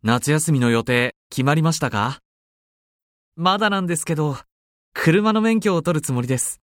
夏休みの予定決まりましたか？まだなんですけど、車の免許を取るつもりです。